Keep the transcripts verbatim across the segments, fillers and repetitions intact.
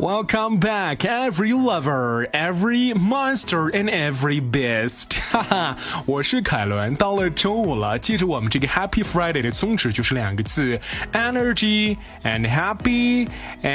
Welcome back, every lover, every monster, and every beast. 哈哈，我是凯伦。到了周五了，记着我们这个 Happy Friday 的宗旨就是两个字 ：energy and happy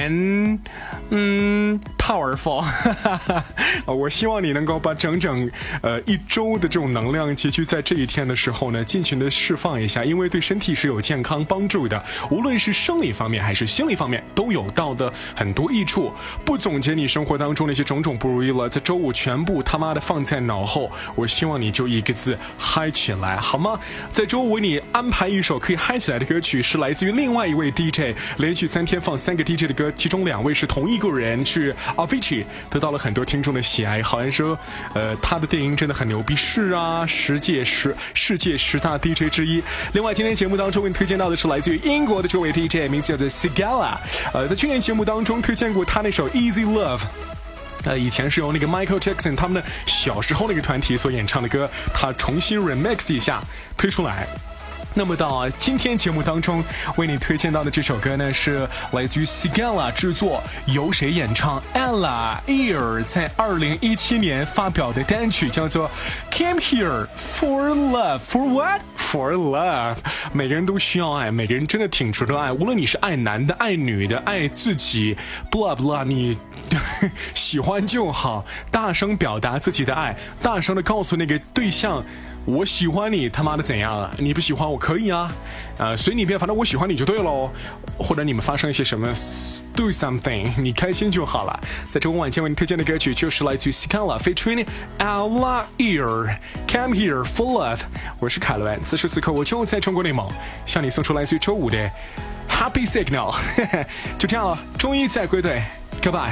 and 嗯 powerful。我希望你能够把整整呃一周的这种能量集聚在这一天的时候呢，尽情的释放一下，因为对身体是有健康帮助的，无论是生理方面还是心理方面都有到的很多益处。不总结你生活当中那些种种不如意了，在周五全部他妈的放在脑后，我希望你就一个字嗨起来，好吗？在周五为你安排一首可以嗨起来的歌曲，是来自于另外一位 D J， 连续三天放三个 D J 的歌，其中两位是同一个人，是 Avicii， 得到了很多听众的喜爱。好像说，呃，他的电音真的很牛逼，是啊，世界十世界十大 D J 之一。另外，今天节目当中为你推荐到的是来自于英国的这位 D J， 名字叫做 Sigala， 呃，在去年节目当中推荐过他那首 Easy Love。呃，以前是由那个 Michael Jackson 他们的小时候那个团体所演唱的歌，他重新 remix 一下推出来。那么到今天节目当中为你推荐到的这首歌呢，是来自于 Sigala 制作，由谁演唱 Ella Ear 在二零一七年发表的单曲，叫做 Came Here for Love。 For what? For love。 每个人都需要爱，每个人真的挺值得爱，无论你是爱男的爱女的爱自己 blah blah， 你喜欢就好，大声表达自己的爱，大声的告诉那个对象，我喜欢你，他妈的怎样啊？你不喜欢我可以啊，呃，随你便，反正我喜欢你就对喽。或者你们发生一些什么 do something， 你开心就好了。在周五晚间为你推荐的歌曲就是来自于 Sigala featuring Ella Ear Come Here for Love。 我是凯伦，此时此刻我就在中国内蒙，向你送出来自于周五的 Happy Signal。 就这样了，周一再归队 Goodbye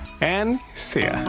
and see ya。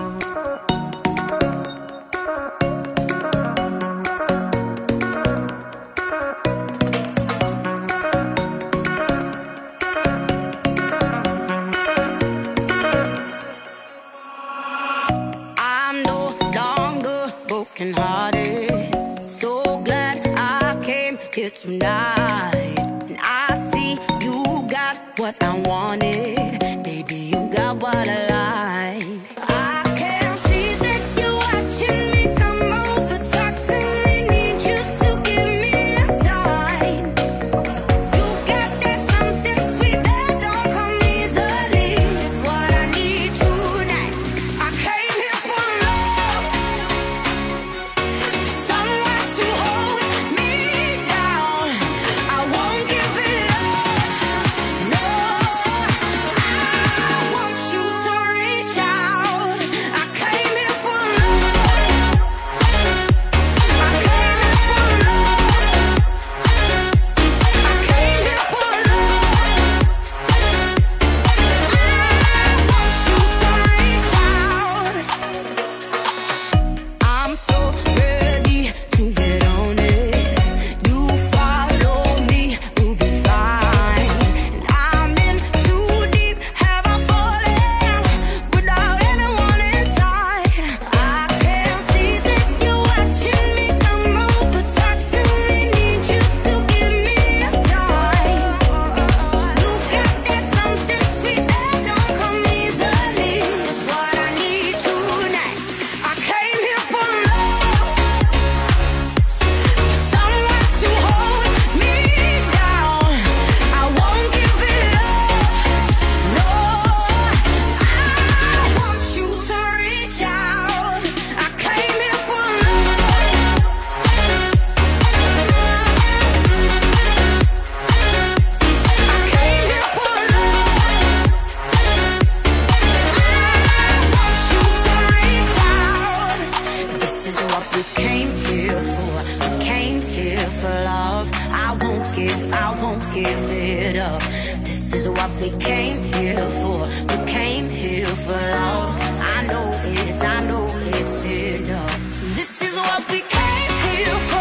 So glad I came here tonight, and I see you got what I wanted, baby, you got what I like. I can see that you're watching me come over, talk to me, need you to give me a sign. You got that something sweet that don't come easily, it's what I need tonight. I came here for love, someone to hold me down. I won't give it up, no, I want you to reach out. I came here for love, I came here for love, I came here for love. I want you to reach out. I'm so ready to get on it. You follow me, we'll be fine. And I'm in too deep, have I fallen without anyone inside? I can see that you're watching me come over, talk to me, need you to give me a sign. You got that something sweet that don't come easily, it's what I need tonight. I came here for love, someone to hold me down. I won't give it up, no, I want you to reach out. I came here for love, I came here for love. I want you to reach out. This is what we came here for. We came here for love. I won't give, I won't give it up. This is what we came here for. We came here for love. I know it's, I know it's enough. This is what we came here for.